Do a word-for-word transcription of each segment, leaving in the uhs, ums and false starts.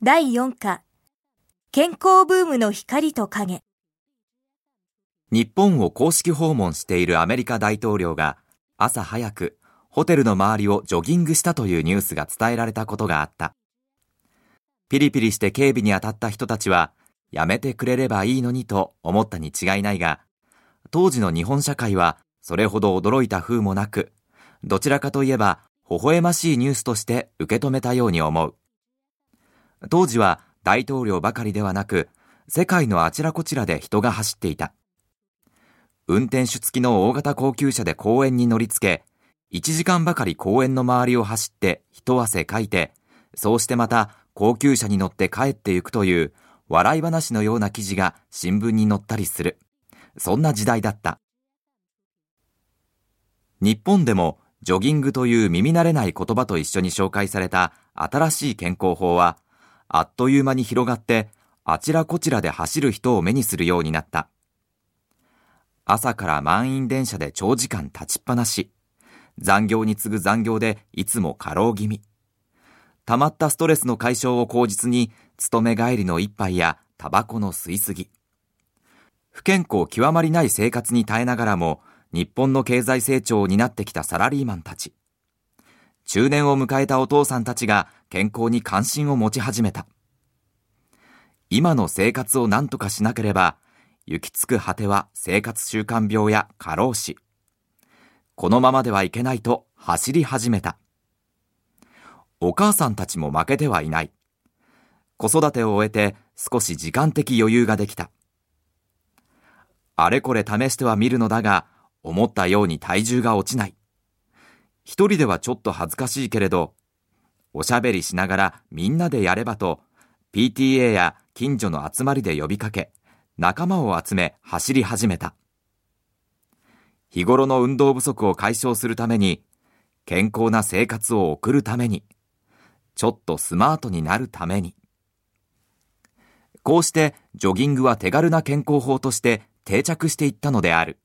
だいよん課、健康ブームの光と影。 日本を公式訪問しているアメリカ大統領が朝早くホテルの周りをジョギングしたというニュースが伝えられたことがあった。ピリピリして警備に当たった人たちはやめてくれればいいのにと思ったに違いないが、当時の日本社会はそれほど驚いた風もなく、どちらかといえば微笑ましいニュースとして受け止めたように思う。当時は大統領ばかりではなく、世界のあちらこちらで人が走っていた。運転手付きの大型高級車で公園に乗り付け、いちじかんばかり公園の周りを走って一汗かいて、そうしてまた高級車に乗って帰ってゆくという笑い話のような記事が新聞に載ったりする。そんな時代だった。日本でもジョギングという耳慣れない言葉と一緒に紹介された新しい健康法は、あっという間に広がってあちらこちらで走る人を目にするようになった。朝から満員電車で長時間立ちっぱなし、残業に次ぐ残業でいつも過労気味。溜まったストレスの解消を口実に勤め帰りの一杯やタバコの吸いすぎ。不健康極まりない生活に耐えながらも日本の経済成長を担ってきたサラリーマンたち。中年を迎えたお父さんたちが健康に関心を持ち始めた。今の生活を何とかしなければ、行き着く果ては生活習慣病や過労死。このままではいけないと走り始めた。お母さんたちも負けてはいない。子育てを終えて少し時間的余裕ができた。あれこれ試してはみるのだが、思ったように体重が落ちない。一人ではちょっと恥ずかしいけれど、おしゃべりしながらみんなでやればと、ピーティーエー や近所の集まりで呼びかけ、仲間を集め走り始めた。日頃の運動不足を解消するために、健康な生活を送るために、ちょっとスマートになるために。こうしてジョギングは手軽な健康法として定着していったのである。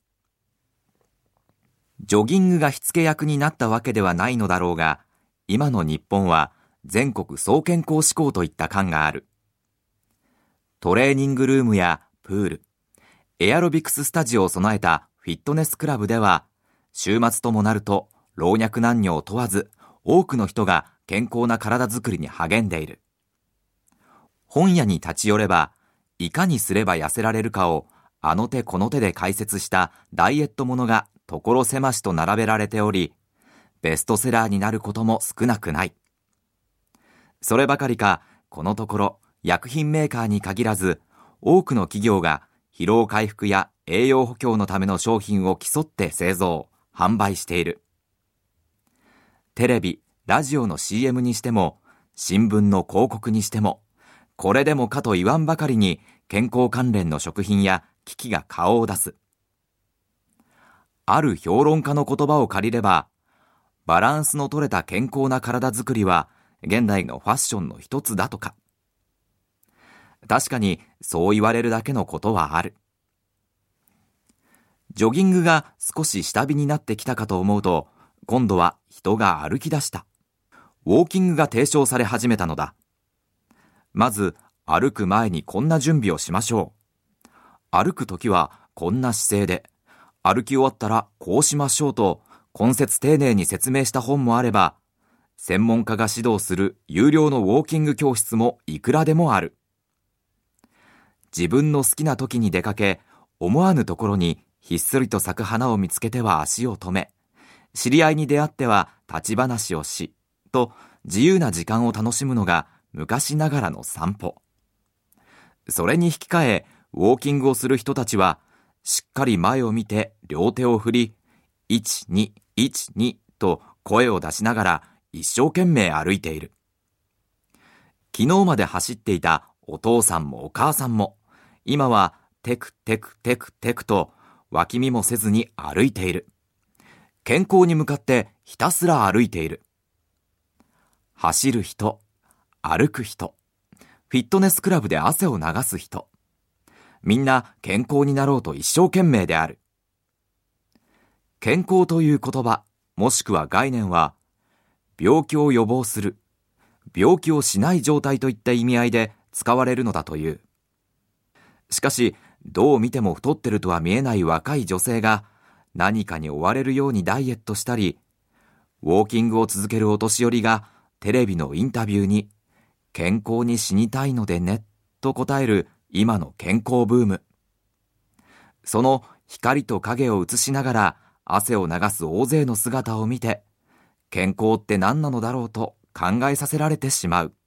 ジョギングが火付け役になったわけではないのだろうが、今の日本は全国総健康志向といった感がある。トレーニングルームやプール、エアロビクススタジオを備えたフィットネスクラブでは、週末ともなると老若男女を問わず、多くの人が健康な体づくりに励んでいる。本屋に立ち寄れば、いかにすれば痩せられるかをあの手この手で解説したダイエットものが所狭しと並べられており、ベストセラーになることも少なくない。そればかりか、このところ薬品メーカーに限らず、多くの企業が疲労回復や栄養補強のための商品を競って製造、販売している。テレビ、ラジオの シーエム にしても、新聞の広告にしても、これでもかと言わんばかりに健康関連の食品や機器が顔を出す。ある評論家の言葉を借りれば、バランスの取れた健康な体づくりは現代のファッションの一つだとか。確かにそう言われるだけのことはある。ジョギングが少し下火になってきたかと思うと、今度は人が歩き出した。ウォーキングが提唱され始めたのだ。まず歩く前にこんな準備をしましょう。歩くときはこんな姿勢で、歩き終わったらこうしましょうと根節丁寧に説明した本もあれば、専門家が指導する有料のウォーキング教室もいくらでもある。自分の好きな時に出かけ、思わぬところにひっそりと咲く花を見つけては足を止め、知り合いに出会っては立ち話をし、と自由な時間を楽しむのが昔ながらの散歩。それに引き換え、ウォーキングをする人たちは、しっかり前を見て両手を振り、いち、に、いち、にと声を出しながら一生懸命歩いている。昨日まで走っていたお父さんもお母さんも、今はテクテクテクテクと脇見もせずに歩いている。健康に向かってひたすら歩いている。走る人、歩く人、フィットネスクラブで汗を流す人、みんな健康になろうと一生懸命である。健康という言葉、もしくは概念は、病気を予防する、 病気をしない状態といった意味合いで使われるのだという。しかし、どう見ても太ってるとは見えない若い女性が何かに追われるようにダイエットしたり、ウォーキングを続けるお年寄りがテレビのインタビューに健康に死にたいのでねと答える今の健康ブーム。その光と影を映しながら汗を流す大勢の姿を見て、健康って何なのだろうと考えさせられてしまう。